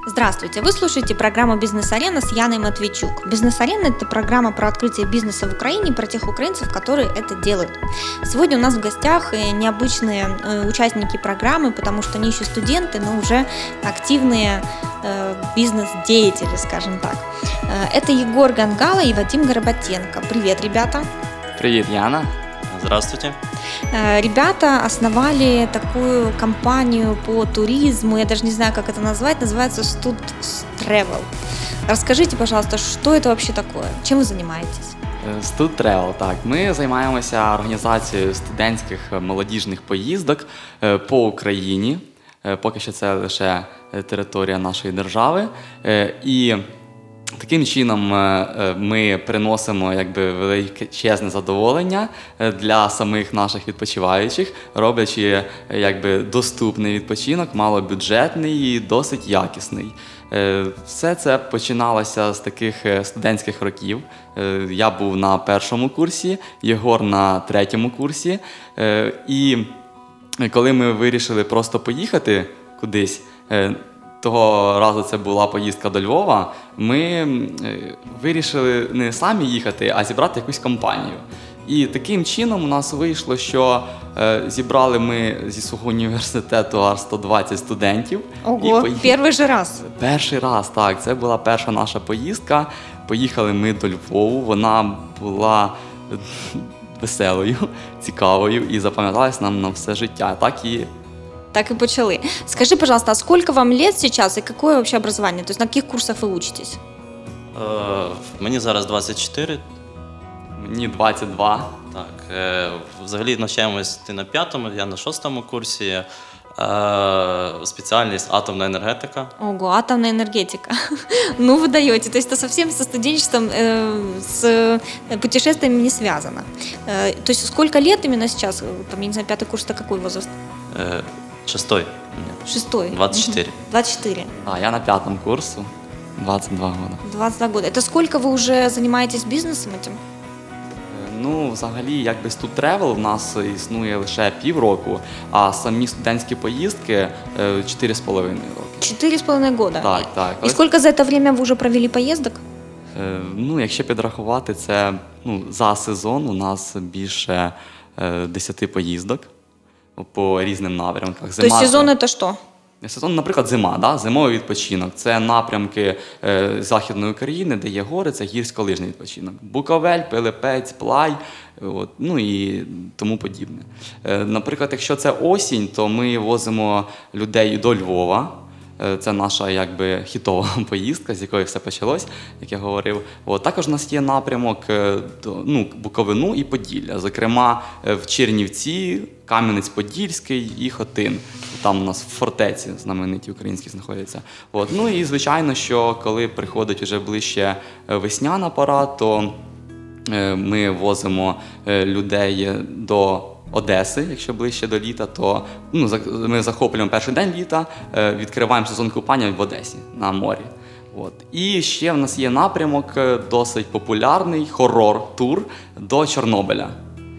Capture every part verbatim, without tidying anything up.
Здравствуйте! Вы слушаете программу «Бизнес-арена» с Яной Матвейчук. «Бизнес-арена» – это программа про открытие бизнеса в Украине, про тех украинцев, которые это делают. Сегодня у нас в гостях необычные участники программы, потому что они еще студенты, но уже активные бизнес-деятели, скажем так. Это Егор Гангало и Вадим Горбатенко. Привет, ребята! Привет, Яна! Здравствуйте. Ребята основали такую компанию по туризму, я даже не знаю, как это назвать, называется Stud Travel. Расскажите, пожалуйста, что это вообще такое? Чем вы занимаетесь? Stud Travel, так. Ми займаємося організацією студентських молодіжних поїздок по Україні. Поки що це лише територія нашої держави. І таким чином ми приносимо якби величезне задоволення для самих наших відпочиваючих, роблячи якби доступний відпочинок, малобюджетний і досить якісний. Все це починалося з таких студентських років. Я був на першому курсі, Єгор на третьому курсі. І коли ми вирішили просто поїхати кудись, того разу це була поїздка до Львова, ми вирішили не самі їхати, а зібрати якусь компанію. І таким чином у нас вийшло, що зібрали ми зі свого університету аж сто двадцять студентів. Ого, поїхали... перший же раз? Перший раз, так. Це була перша наша поїздка. Поїхали ми до Львову, вона була веселою, цікавою і запам'яталась нам на все життя. Так і Так и почали. Скажи, пожалуйста, а сколько вам лет сейчас и какое вообще образование? То есть на каких курсах вы учитесь? Е, мені зараз двадцять чотири. Мені двадцять два. Так, е, взагалі навчаємось ти на п'ятому, я на шостому курсі. Е, спеціальність атомна енергетика. Ого, атомная энергетика. Ну, вы даете. То есть это совсем со студенчеством, э, с путешествиями не связано. Э, то есть сколько лет именно сейчас? Там, я не знаю, пятый курс – это какой возраст? Е, шестой. Шестой. двадцать четыре. двадцать четыре. А, я на пятом курсу. двадцять два года. двадцять два года. Это сколько вы уже занимаетесь бизнесом этим? Ну, взагалі, якби Stud Travel в нас існує лише півроку, а самі студентські поїздки чотири з половиною роки. Четыре с половиной года? Так, так. И сколько за это время вы уже провели поездок? Е, ну, якщо підрахувати, це ну, за сезон у нас більше е, десяти поїздок по різним напрямках. Зима, то есть сезон – це що? Сезон, наприклад, зима, да? Зимовий відпочинок. Це напрямки е, Західної України, де є гори, це гірськолижний відпочинок. Буковель, Пилипець, Плай, от, ну і тому подібне. Е, наприклад, якщо це осінь, то ми возимо людей до Львова. Е, це наша якби хітова поїздка, з якої все почалось, як я говорив. От, також у нас є напрямок е, до, ну, Буковину і Поділля. Зокрема, е, в Чернівці, Кам'янець-Подільський і Хотин. Там у нас в фортеці знамениті українські знаходяться. От. Ну і звичайно, що коли приходить вже ближче весняна пора, то ми возимо людей до Одеси, якщо ближче до літа, то ну, ми захоплюємо перший день літа, відкриваємо сезон купання в Одесі на морі. От. І ще в нас є напрямок досить популярний, хоррор-тур до Чорнобиля.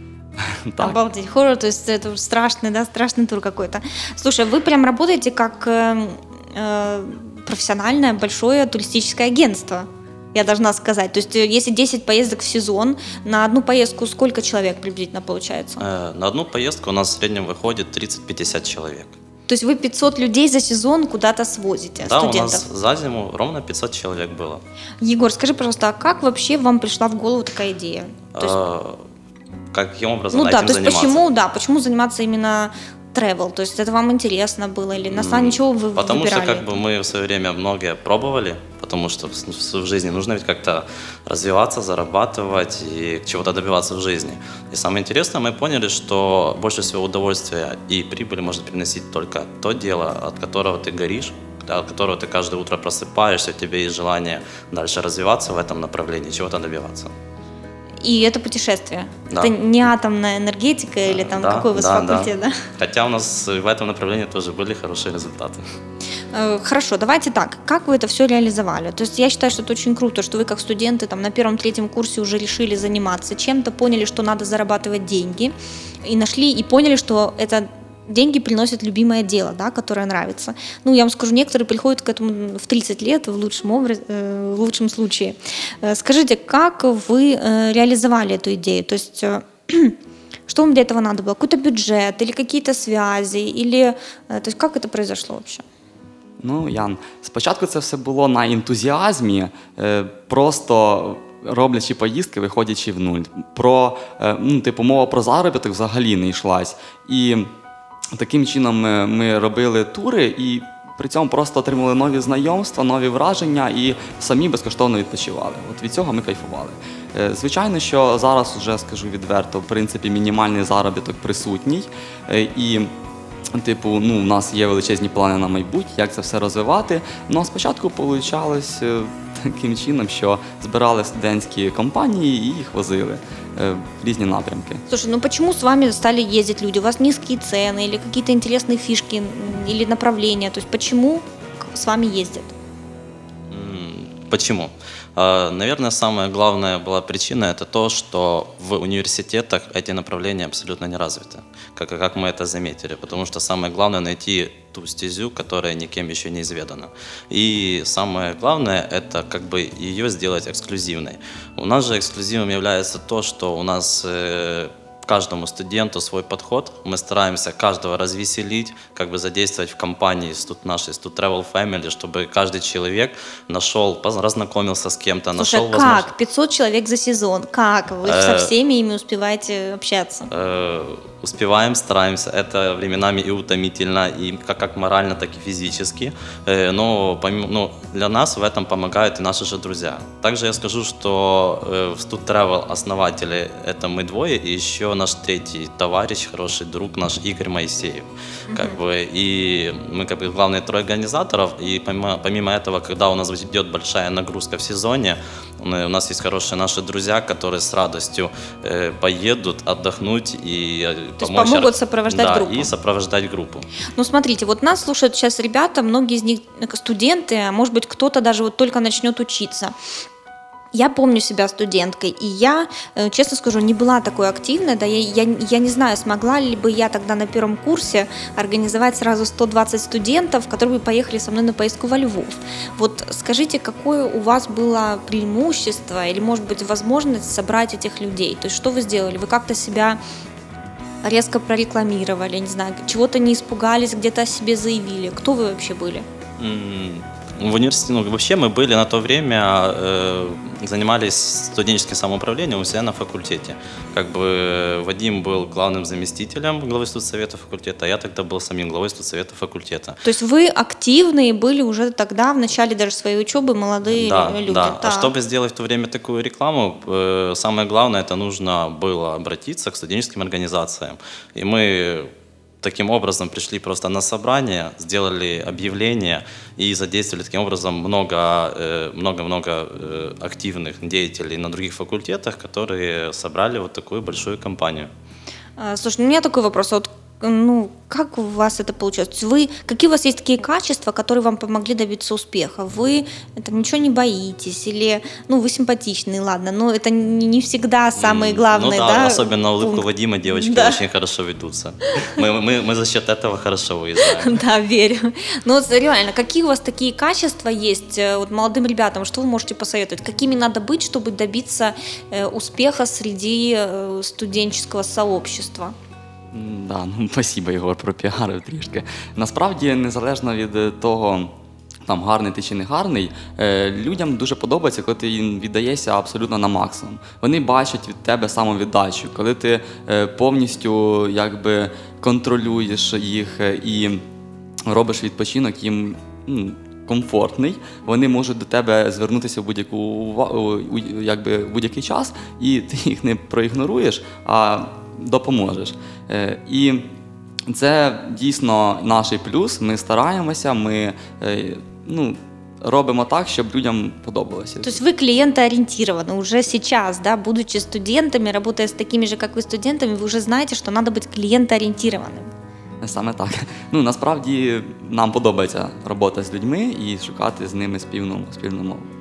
Так. Обалдеть, хоррор, то есть это страшный, да, страшный тур какой-то. Слушай, вы прям работаете как э, э, профессиональное большое туристическое агентство, я должна сказать. То есть если десять поездок в сезон, на одну поездку сколько человек приблизительно получается? Э, на одну поездку у нас в среднем выходит тридцать-пятьдесят человек. То есть вы пятьсот людей за сезон куда-то свозите, да, студентов? Да, у нас за зиму ровно пятьсот человек было. Егор, скажи, пожалуйста, а как вообще вам пришла в голову такая идея? То есть... э, Каким образом ну, этим да, то есть заниматься? Почему, да, почему заниматься именно travel? То есть это вам интересно было или на самом деле вы Потому выбирали? что как бы мы в свое время многое пробовали, потому что в жизни нужно ведь как-то развиваться, зарабатывать и чего-то добиваться в жизни. И самое интересное, мы поняли, что больше всего удовольствия и прибыли может приносить только то дело, от которого ты горишь, от которого ты каждое утро просыпаешься, у тебя есть желание дальше развиваться в этом направлении, чего-то добиваться. И это путешествие. Да. Это не атомная энергетика или там да, какой у вас да, факультет, да. да? Хотя у нас в этом направлении тоже были хорошие результаты. Хорошо, давайте так. Как вы это все реализовали? То есть я считаю, что это очень круто, что вы как студенты там, на первом-третьем курсе уже решили заниматься чем-то, поняли, что надо зарабатывать деньги, и нашли, и поняли, что это деньги приносит любимое дело, да, которое нравится. Ну, я вам скажу, некоторые приходят к этому в тридцать лет, в лучшем, образ, э, в лучшем случае. Э, скажите, как вы э, реализовали эту идею? То есть, э, что вам для этого надо было? Какой-то бюджет или какие-то связи? Или, э, то есть, как это произошло вообще? Ну, Ян, спочатку це все було на ентузіазмі, е, просто роблячи поїздки, виходячи в нуль. Про, е, ну, типу, мова про заробіток взагалі не йшлась. І таким чином ми, ми робили тури і при цьому просто отримали нові знайомства, нові враження і самі безкоштовно відпочивали. От від цього ми кайфували. Е, звичайно, що зараз, вже скажу відверто, в принципі, мінімальний заробіток присутній. Е, і Типу, ну, у нас є величезні плани на майбутнє, як це все розвивати. Ну, а спочатку вийшло таким чином, що збирали студентські компанії і їх возили е, в різні напрямки. Слушай, ну почему с вами стали ездить люди? У вас низкие цены или какие-то интересные фишки или направления? То есть почему с вами ездят? Почему? Наверное, самая главная была причина – это то, что в университетах эти направления абсолютно не развиты, как, как мы это заметили, потому что самое главное – найти ту стезю, которая никем еще не изведана. И самое главное – это как бы ее сделать эксклюзивной. У нас же эксклюзивом является то, что у нас э, каждому студенту свой подход. Мы стараемся каждого развеселить, как бы задействовать в компании тут нашей Stud Travel Family, чтобы каждый человек нашел, разнакомился с кем-то, Слушай, нашел как? возможность. пятьсот человек за сезон. Как? Вы Э, со всеми ими успеваете общаться? Э, Успеваем, стараемся. Это временами и утомительно, и как, как морально, так и физически. Э, Но помимо, ну, для нас в этом помогают и наши же друзья. Также я скажу, что э, в Stud Travel основатели – это мы двое, и еще наш третий товарищ, хороший друг, наш Игорь Моисеев. Как бы, и мы как бы главные трое организаторов, и помимо, помимо этого, когда у нас идет большая нагрузка в сезоне, у нас есть хорошие наши друзья, которые с радостью э, поедут отдохнуть и э, То есть помочь, помогут сопровождать да, группу. и сопровождать группу. Ну, смотрите, вот нас слушают сейчас ребята, многие из них студенты, а может быть, кто-то даже вот только начнет учиться. Я помню себя студенткой, и я, честно скажу, не была такой активной, да, я, я, я не знаю, смогла ли бы я тогда на первом курсе организовать сразу сто двадцать студентов, которые бы поехали со мной на поездку во Львов. Вот скажите, какое у вас было преимущество или, может быть, возможность собрать этих людей? То есть что вы сделали? Вы как-то себя резко прорекламировали, не знаю, чего-то не испугались, где-то о себе заявили? Кто вы вообще были? В университете, ну, вообще мы были на то время, э, занимались студенческим самоуправлением у себя на факультете. Как бы Вадим был главным заместителем главы студсовета факультета, а я тогда был самим главой студсовета факультета. То есть вы активные были уже тогда, в начале даже своей учебы, молодые да, люди? Да, да. А чтобы сделать в то время такую рекламу, э, самое главное, это нужно было обратиться к студенческим организациям. И мы таким образом пришли просто на собрание, сделали объявление и задействовали таким образом много-много активных деятелей на других факультетах, которые собрали вот такую большую компанию. Слушай, у меня такой вопрос. Вот, ну, как у вас это получилось? Вы, какие у вас есть такие качества, которые вам помогли добиться успеха? Вы там, ничего не боитесь? Или, ну, вы симпатичный, ладно, но это не, не всегда самое главное, ну, да? да? Особенно улыбку пункт. Вадима девочки да. очень хорошо ведутся. Мы, мы, мы за счет этого хорошо выезжаем. Да, верю. Ну, вот реально, какие у вас такие качества есть вот, молодым ребятам? Что вы можете посоветовать? Какими надо быть, чтобы добиться э, успеха среди э, студенческого сообщества? Да, ну, спасибо, Єгор, пропіарив трішки. Насправді, незалежно від того, там, гарний ти чи не гарний, е, людям дуже подобається, коли ти їм віддаєшся абсолютно на максимум. Вони бачать від тебе самовіддачу, коли ти е, повністю якби контролюєш їх е, і робиш відпочинок їм ну, комфортний, вони можуть до тебе звернутися в будь-яку увагу, якби, в будь-який час, і ти їх не проігноруєш, а допоможеш. Е, і це дійсно наш плюс, ми стараємося, ми е, ну, робимо так, щоб людям подобалося. То есть вы клиентоориентированы уже сейчас, да, будучи студентами, работая с такими же, как вы, студентами, вы уже знаете, что надо быть клиентоориентированным. Саме так. Ну, насправді нам подобається робота з людьми і шукати з ними спільну, спільну мову.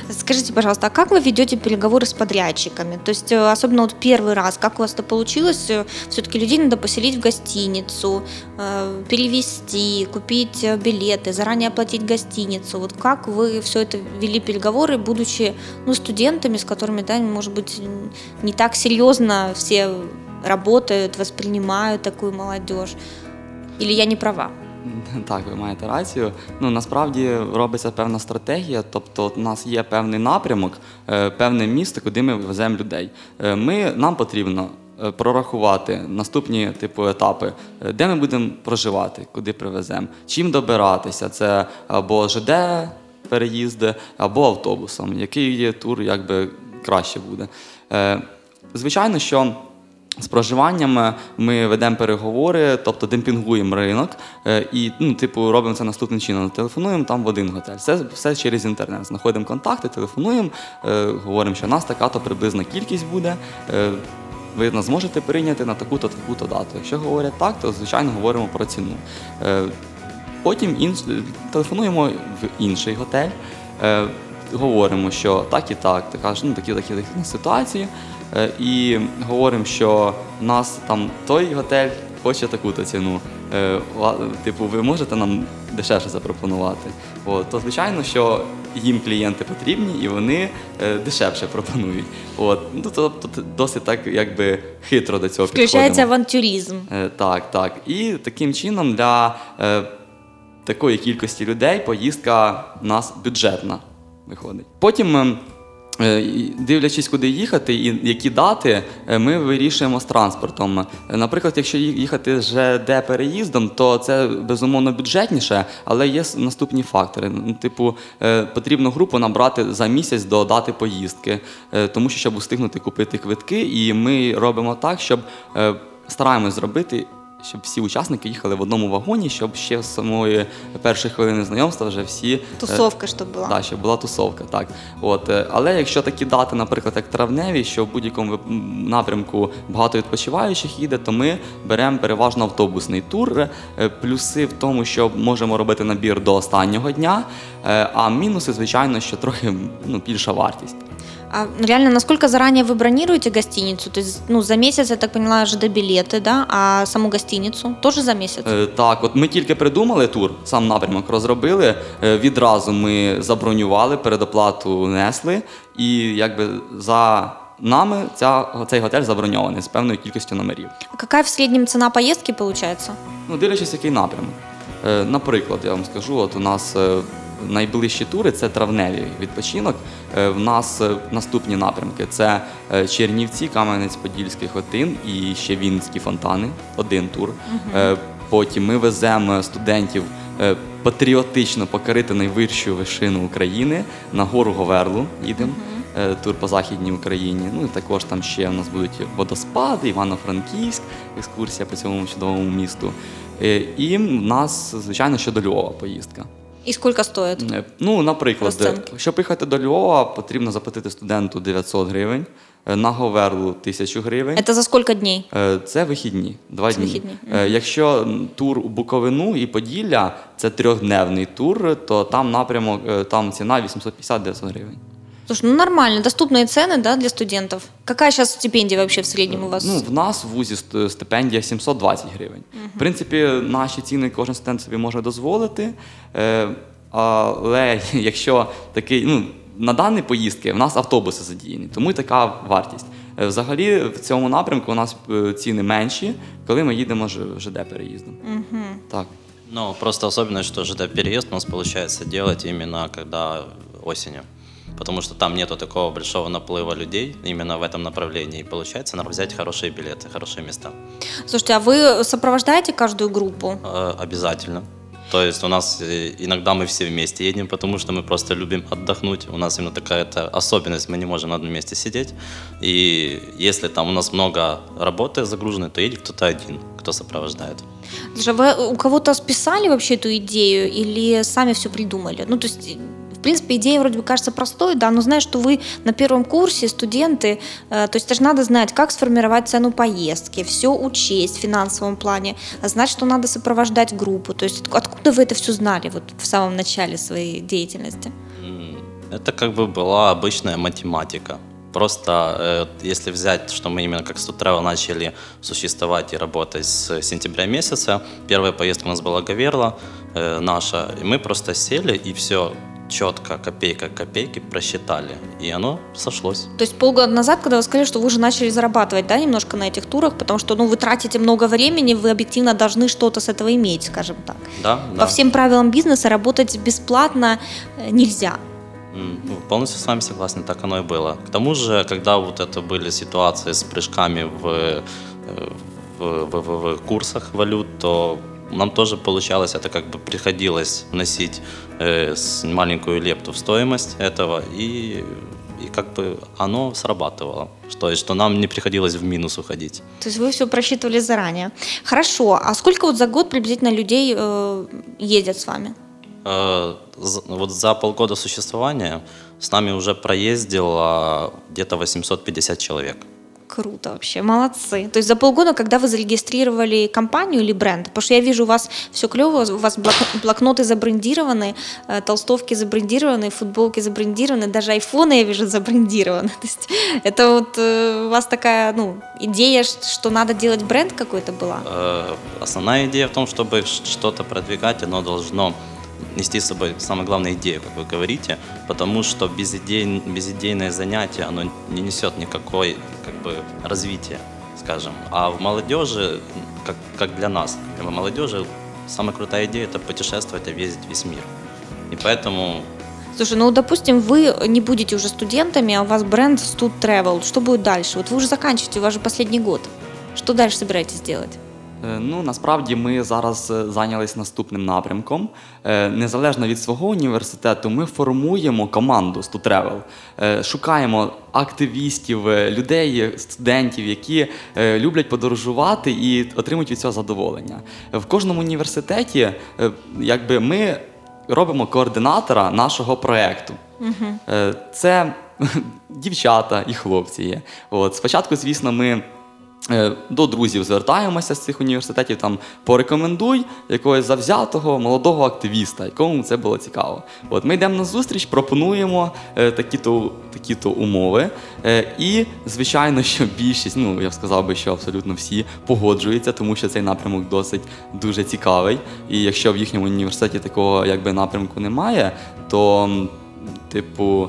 Скажите, пожалуйста, а как вы ведете переговоры с подрядчиками? То есть, э, особенно вот первый раз, как у вас это получилось? Э, Все-таки людей надо поселить в гостиницу, э, перевести, купить э, билеты, заранее оплатить гостиницу. Вот как вы все это вели переговоры, будучи, ну, студентами, с которыми, да, может быть, н- не так серьезно все работают, воспринимают такую молодежь? Или я не права? Так, ви маєте рацію. Ну, насправді робиться певна стратегія, тобто у нас є певний напрямок, е, певне місто, куди ми веземо людей. Е, Ми, нам потрібно е, прорахувати наступні типу етапи, е, де ми будемо проживати, куди привеземо, чим добиратися, це або ЖД переїзди, або автобусом, який є тур, якби краще буде. Е, Звичайно, що з проживанням ми ведемо переговори, тобто демпінгуємо ринок е, і, ну, типу, робимо це наступним чином. Телефонуємо там в один готель. Все, все через інтернет. Знаходимо контакти, телефонуємо, е, говоримо, що у нас така-то приблизна кількість буде. Е, ви нас зможете прийняти на таку-то, таку-то дату. Якщо говорять так, то, звичайно, говоримо про ціну. Е, потім інш... телефонуємо в інший готель, е, говоримо, що так і так, така ж, ну, такі такі такі ситуації. Е, І говоримо, що у нас там той готель хоче таку-то ціну. Е, ла- Типу, ви можете нам дешевше запропонувати? От, то звичайно, що їм клієнти потрібні і вони е, дешевше пропонують. От, ну, тобто т- досить так, якби хитро до цього Включається підходимо. авантюризм. Е, Так, так. І таким чином для е, такої кількості людей поїздка у нас бюджетна виходить. Потім, е, е, і дивлячись, куди їхати і які дати, е, ми вирішуємо з транспортом. Е, Наприклад, якщо ї- їхати ЖД переїздом, то це безумовно бюджетніше, але є с- наступні фактори. Ну, Типу, е, потрібно групу набрати за місяць до дати поїздки, е, тому що щоб встигнути купити квитки, і ми робимо так, щоб е, стараємось зробити, щоб всі учасники їхали в одному вагоні, щоб ще з самої першої хвилини знайомства вже всі... е, Тусовка, щоб була. Так, щоб була тусовка, так. От, е, але якщо такі дати, наприклад, як травневі, що в будь-якому вип- м, напрямку багато відпочиваючих їде, то ми беремо переважно автобусний тур. Е, Плюси в тому, що можемо робити набір до останнього дня, е, а мінуси, звичайно, що трохи, ну, більша вартість. А реально, насколько заранее вы бронируете гостиницу? То есть, ну, за месяц, я так поняла, ЖД-билеты, да? А саму гостиницу тоже за месяц? Е, Так, от ми тільки придумали тур, сам напрямок розробили, е, відразу ми забронювали, передоплату несли, і якби за нами ця, цей готель заброньований з певною кількістю номерів. А какая в среднем цена поездки получается? Ну, дивлячись, який напрямок. Е, Наприклад, я вам скажу, от у нас е, найближчі тури – це травневий відпочинок. Е, В нас е, наступні напрямки – це е, Чернівці, Кам'янець-Подільський, Хотин і ще Вінницькі фонтани, один тур. Е, Потім ми веземо студентів е, патріотично покорити найвищу вершину України, на гору Говерлу їдемо. Е, Тур по Західній Україні. Ну і також там ще у нас будуть водоспади, Івано-Франківськ, екскурсія по цьому чудовому місту. Е, І в нас, звичайно, що до Львова поїздка. И сколько стоит? Е, Ну, наприклад, Розцінки. щоб їхати до Львова, потрібно заплатити студенту дев'ятсот гривень, е, на Говерлу тисячу гривень. Это за сколько дней? Е, Це вихідні, два Це дні. вихідні, Е, Якщо м, тур у Буковину і Поділля, це трьохдневний тур, то там напрямок, е, там ціна вісімсот п'ятдесят - дев'ятсот гривень. Слушай, ну нормально, доступные цены, да, для студентов. Какая сейчас стипендия вообще в среднем у вас? Ну, в нас в вузі ст- стипендія сімсот двадцять гривень. В принципі, наші ціни кожен студент собі може дозволити. Е, але якщо такий, ну, на дані поїздки в нас автобуси задіяні, тому і така вартість. Е, Взагалі в цьому напрямку у нас е, ціни менші, коли ми їдемо ж- ЖД переїздом. Так. Но просто особенность, что ЖД-переезд у нас получается делать именно когда осенью. Потому что там нету такого большого наплыва людей именно в этом направлении. И получается нам взять хорошие билеты, хорошие места. Слушайте, а вы сопровождаете каждую группу? Э, Обязательно. То есть у нас э, иногда мы все вместе едем, потому что мы просто любим отдохнуть. У нас именно такая-то особенность, мы не можем на одном месте сидеть. И если там у нас много работы загруженной, то едет кто-то один, кто сопровождает. Слушай, вы у кого-то списали вообще эту идею или сами все придумали? Ну, то есть, в принципе, идея вроде бы кажется простой, да, но знаешь, что вы на первом курсе, студенты, э, то есть это же надо знать, как сформировать цену поездки, все учесть в финансовом плане, а знать, что надо сопровождать группу. То есть от- откуда вы это все знали вот в самом начале своей деятельности? М, Это как бы была обычная математика. Просто э, если взять, что мы именно как StudTravel начали существовать и работать с сентября месяца, первая поездка у нас была Гаверла э, наша, и мы просто сели и все четко, копейка к копейке просчитали, и оно сошлось. То есть полгода назад, когда вы сказали, что вы уже начали зарабатывать, да, немножко на этих турах, потому что, ну, вы тратите много времени, вы объективно должны что-то с этого иметь, скажем так. Да, По да. всем правилам бизнеса работать бесплатно нельзя. Ну, полностью с вами согласен, так оно и было. К тому же, когда вот это были ситуации с прыжками в, в, в, в, в курсах валют, то нам тоже получалось, это как бы приходилось вносить э, маленькую лепту в стоимость этого, и, и как бы оно срабатывало, что, что нам не приходилось в минус уходить. То есть вы все просчитывали заранее. Хорошо, а сколько вот за год приблизительно людей э, ездят с вами? Э, за, вот за полгода существования с нами уже проездило где-то восемьсот пятьдесят человек. Круто вообще, молодцы. То есть за полгода, когда вы зарегистрировали компанию или бренд, потому что я вижу, у вас все клево, у вас блокноты забрендированы, толстовки забрендированы, футболки забрендированы, даже айфоны, я вижу, забрендированы. То есть это вот у вас такая, ну, идея, что надо делать бренд какой-то была? Основная идея в том, чтобы что-то продвигать, оно должно нести с собой, самое главное, идею, как вы говорите, потому что безидей, безидейное занятие, оно не несет никакой, как бы, развития, скажем. А в молодежи, как, как для нас, для молодежи, самая крутая идея – это путешествовать, объездить весь мир. И поэтому... Слушай, ну, допустим, вы не будете уже студентами, а у вас бренд StudTravel. Что будет дальше? Вот вы уже заканчиваете, у вас же последний год. Что дальше собираетесь делать? Ну, насправді ми зараз зайнялись наступним напрямком. Незалежно від свого університету, ми формуємо команду StudTravel. Шукаємо активістів, людей, студентів, які люблять подорожувати і отримують від цього задоволення. В кожному університеті, якби, ми робимо координатора нашого проєкту. Угу. Це дівчата і хлопці є. От. Спочатку, звісно, ми до друзів звертаємося з цих університетів, там, порекомендуй якогось завзятого молодого активіста, якому це було цікаво. От, ми йдемо на зустріч, пропонуємо е, такі-то, такі-то умови, е, і, звичайно, що більшість, ну, я б сказав би, що абсолютно всі погоджуються, тому що цей напрямок досить дуже цікавий, і якщо в їхньому університеті такого, якби, напрямку немає, то, типу,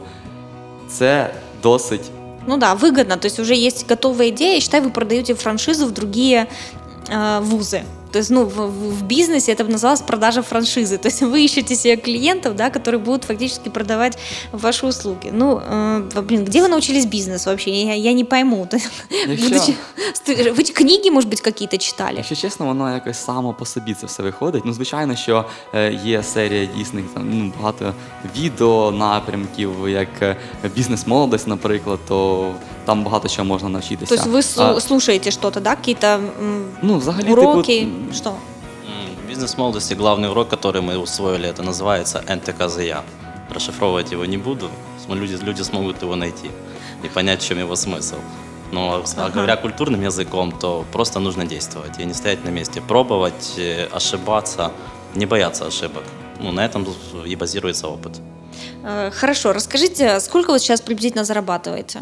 це досить... Ну да, выгодно, то есть уже есть готовая идея, и считай, вы продаете франшизу в другие э, вузы. То есть, ну, в, в бизнесе это бы называлось продажа франшизы. То есть вы ищете себе клиентов, да, которые будут фактически продавать ваши услуги. Ну, э, блин, где вы научились бизнесу вообще? Я, я не пойму. Будучи... Ви книги, може бути, якісь читали? Якщо чесно, воно якось само по собі це все виходить. Ну, звичайно, що є серія дійсних, там, ну, багато відео, напрямків, як бізнес-молодость, наприклад, то там багато чого можна навчитися. Тобто ви а, слушаєте щось, да? Якісь ну, взагалі, уроки? Типу, что? В бизнес-молодости главный урок, который мы усвоили, это называется эн тэ ка зэ я. Расшифровывать его не буду, люди, люди смогут его найти и понять, в чем его смысл. Но ага. говоря культурным языком, то просто нужно действовать и не стоять на месте, пробовать, ошибаться, не бояться ошибок. Ну, на этом и базируется опыт. Хорошо, расскажите, сколько вы сейчас приблизительно зарабатываете?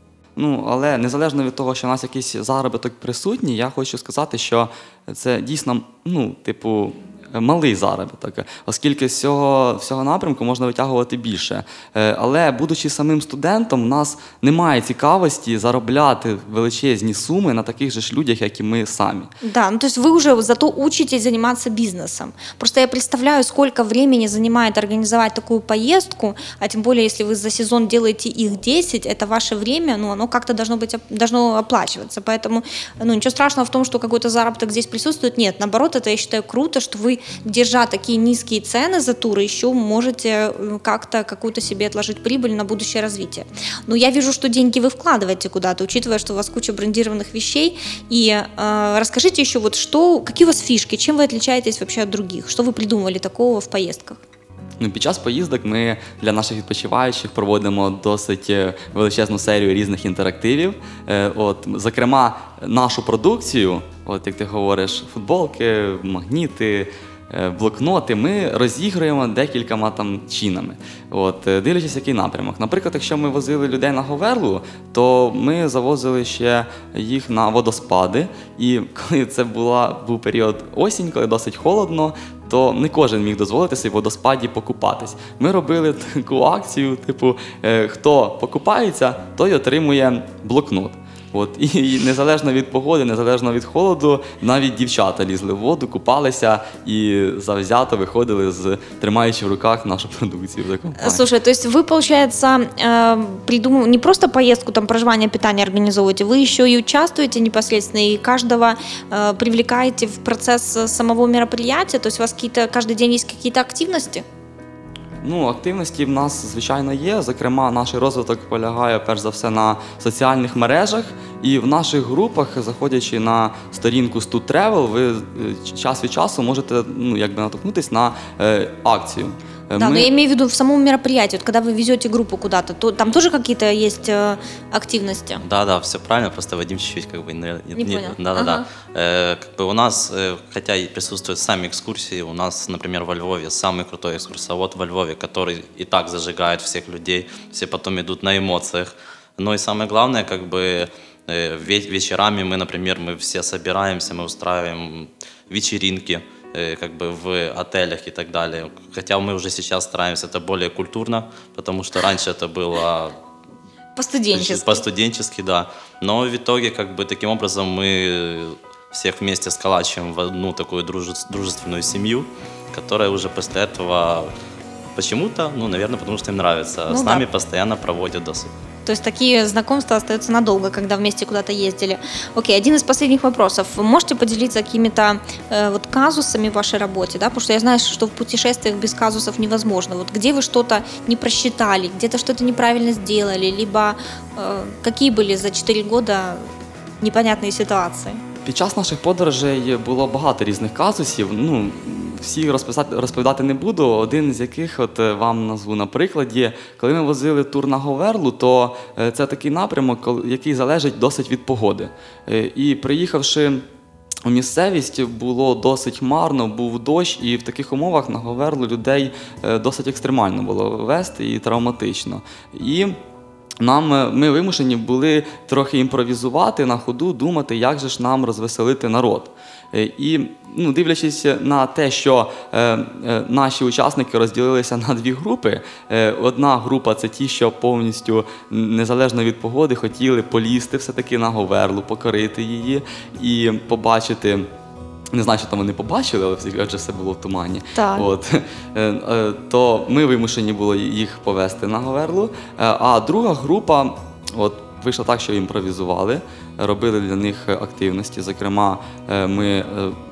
Ну, але незалежно від того, що у нас якийсь заробіток присутній, я хочу сказати, що це дійсно, ну, типу, малий заробіток, оскільки з цього, всього напрямку можна витягувати більше. Але, будучи самим студентом, у нас немає цікавості заробляти величезні суми на таких же ж людях, як і ми самі. Да, ну то есть вы уже зато учитесь заниматься бизнесом. Просто я представляю, сколько времени занимает организовать такую поездку, а тем более, если вы за сезон делаете их десять, это ваше время, ну, оно как-то должно быть, должно оплачиваться. Поэтому, ну, ничего страшного в том, что какой-то заработок здесь присутствует. Нет, наоборот, это, я считаю, круто, что вы, держа такие низкие цены за туры, еще можете как-то какую-то себе отложить прибыль на будущее развитие. Но я вижу, что деньги вы вкладываете куда-то, учитывая, что у вас куча брендированных вещей. И э, расскажите еще, вот что, какие у вас фишки, чем вы отличаетесь вообще от других? Что вы придумывали такого в поездках? Ну, під час поїздок ми для наших відпочиваючих проводимо досить величезну серію різних інтерактивів. От, зокрема, нашу продукцію, от, як ти говориш, футболки, магніти, блокноти, ми розігруємо декількома там чинами. От, дивлячись, який напрямок. Наприклад, якщо ми возили людей на Говерлу, то ми завозили ще їх на водоспади. І коли це була, був період осінь, коли досить холодно, то не кожен міг дозволити собі в водоспаді покупатись. Ми робили таку акцію, типу, хто покупається, той отримує блокнот. От, і незалежно від погоди, незалежно від холоду, навіть дівчата лізли в воду, купалися і завзято виходили, з, тримаючи в руках нашу продукцію. Слушай, то есть вы, получается, придумываете не просто поездку, там, проживание, питание организовываете, вы еще и участвуете непосредственно, и каждого привлекаете в процесс самого мероприятия, то есть у вас какие-то, каждый день есть какие-то активности? Ну, активності в нас, звичайно, є. Зокрема, наш розвиток полягає, перш за все, на соціальних мережах. І в наших групах, заходячи на сторінку Stud Travel, ви час від часу можете, ну, якби натолкнутися на е, акцію. Да, мы... но я имею в виду в самом мероприятии, вот, когда вы везете группу куда-то, то там тоже какие-то есть э, активности? Да, да, все правильно, просто Вадим чуть-чуть как бы не, не, не понял. Да, да, ага. да. Э, как бы у нас, э, хотя и присутствуют сами экскурсии, у нас, например, во Львове самый крутой экскурсовод во Львове, который и так зажигает всех людей, все потом идут на эмоциях. Но и самое главное, как бы э, вечерами мы, например, мы все собираемся, мы устраиваем вечеринки, как бы в отелях и так далее. Хотя мы уже сейчас стараемся это более культурно, потому что раньше это было по-студенчески. По-студенчески, да. Но в итоге, как бы таким образом мы всех вместе сколачиваем в одну такую дружественную семью, которая уже после этого почему-то, ну, наверное, потому что им нравится, ну, с нами да. постоянно проводят досуг. То есть такие знакомства остаются надолго, когда вместе куда-то ездили. Окей, один из последних вопросов. Вы можете поделиться какими-то э, вот казусами в вашей работе, да? Потому что я знаю, что в путешествиях без казусов невозможно. Вот где вы что-то не просчитали, где-то что-то неправильно сделали, либо э, какие были за чотири года непонятные ситуации? Під час наших подорожей було багато різних казусів. Ну, всі розповідати не буду. Один з яких от вам назву на прикладі. Коли ми возили тур на Говерлу, то це такий напрямок, який залежить досить від погоди. І приїхавши у місцевість, було досить хмарно, був дощ, і в таких умовах на Говерлу людей досить екстремально було вести і травматично. І Нам, ми вимушені були трохи імпровізувати на ходу, думати, як же ж нам розвеселити народ. І, ну, дивлячись на те, що е, е, наші учасники розділилися на дві групи. Е, одна група – це ті, що повністю, незалежно від погоди, хотіли полізти все-таки на Говерлу, покорити її і побачити. Не знаю, що там вони побачили, але адже все було в тумані. От. То ми вимушені були їх повезти на Говерлу. А друга група, от, вийшло так, що імпровізували, робили для них активності. Зокрема, ми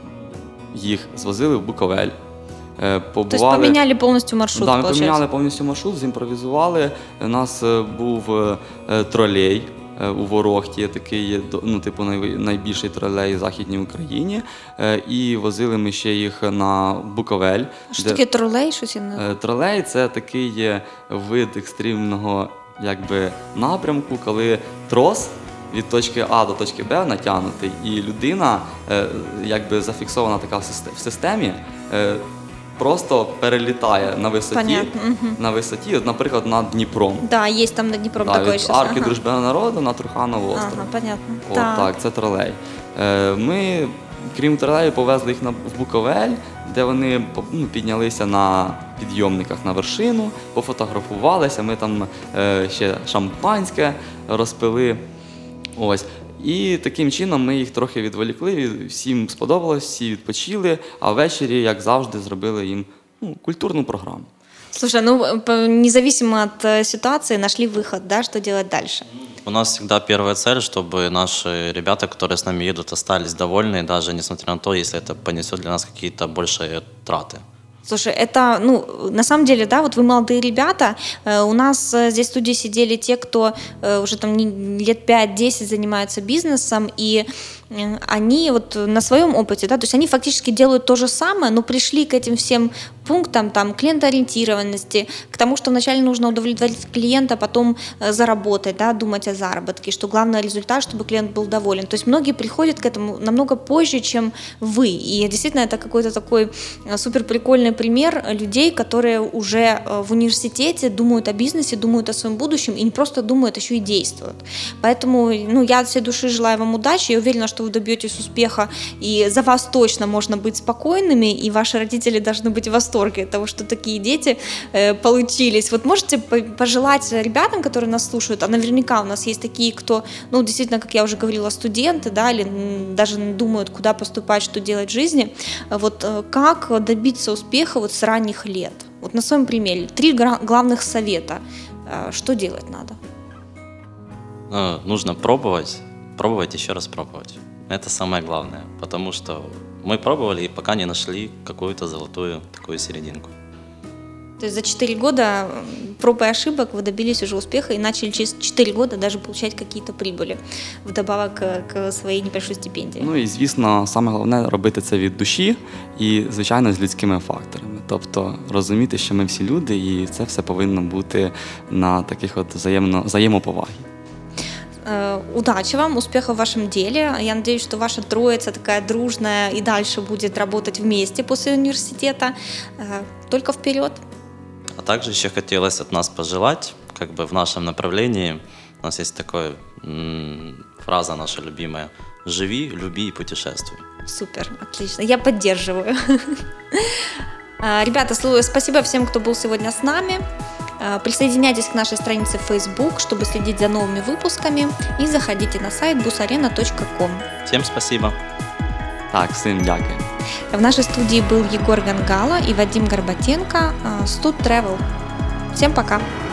їх звозили в Буковель. Тобто поміняли повністю маршрут? Так, да, ми поміняли повністю маршрут, зімпровізували. У нас був тролей у Ворохті, такий, ну, типу, найбільший тролей в Західній Україні. І возили ми ще їх на Буковель. Що де... таке тролей? Щось я не... Тролей – це такий вид екстремного, якби, напрямку, коли трос від точки А до точки Б натягнутий, і людина, якби, зафіксована така в системі, просто перелітає на висоті, угу. на висоті, от, наприклад, над Дніпром. Да, є там над Дніпром да, такий від щас. арки ага. Дружби народу на Труханову остров. Ага, понятно. От, так. так, це тролей. Ми, крім тролею, повезли їх на, в Буковель, де вони, ну, піднялися на підйомниках на вершину, пофотографувалися, ми там е, ще шампанське розпили. Ось. І таким чином ми їх трохи відволікли, всім сподобалось, всі відпочили, а ввечері, як завжди, зробили їм, ну, культурну програму. Слушай, ну, независимо от ситуации, нашли выход, да, что делать дальше? У нас всегда первая цель, чтобы наши ребята, которые с нами едут, остались довольны, даже несмотря на то, если это понесет для нас какие-то большие траты. Слушай, это, ну, на самом деле, да, вот вы молодые ребята, у нас здесь в студии сидели те, кто уже там лет пять-десять занимаются бизнесом, и они вот на своем опыте, да, то есть они фактически делают то же самое, но пришли к этим всем пунктам там, клиентоориентированности, к тому, что вначале нужно удовлетворить клиента, потом э, заработать, да, думать о заработке, что главный результат, чтобы клиент был доволен. То есть многие приходят к этому намного позже, чем вы. И действительно это какой-то такой супер прикольный пример людей, которые уже в университете думают о бизнесе, думают о своем будущем и не просто думают, еще и действуют. Поэтому ну, я от всей души желаю вам удачи, я уверена, что вы добьетесь успеха, и за вас точно можно быть спокойными, и ваши родители должны быть в восторге от того, что такие дети э, получились. Вот можете пожелать ребятам, которые нас слушают, а наверняка у нас есть такие, кто, ну, действительно, как я уже говорила, студенты, да, или даже думают, куда поступать, что делать в жизни, вот как добиться успеха вот с ранних лет? Вот на своем примере. Три главных совета. Что делать надо? Ну, нужно пробовать, пробовать, еще раз пробовать. Это самое главное, потому что мы пробовали и пока не нашли какую-то золотую такую серединку. То есть за четыре года проб и ошибок вы добились уже успеха и начали через четыре года даже получать какие-то прибыли вдобавок к своїй небольшой стипендії. Ну і, звісно, саме головне робити це від душі і, звичайно, з людськими факторами. Тобто розуміти, що ми всі люди, і це все повинно бути на таких от взаємно, взаємоповагі. Удачи вам, успехов в вашем деле. Я надеюсь, что ваша троица такая дружная и дальше будет работать вместе после университета. Только вперед! А также еще хотелось от нас пожелать, как бы в нашем направлении, у нас есть такая м- фраза наша любимая: «Живи, люби и путешествуй». Супер, отлично, я поддерживаю. Ребята, спасибо всем, кто был сегодня с нами. Присоединяйтесь к нашей странице в Facebook, чтобы следить за новыми выпусками, и заходите на сайт бусарена точка ком. Всем спасибо. Так, всім дякую. В нашей студии был Егор Гангало и Вадим Горбатенко, Stud Travel. Всем пока!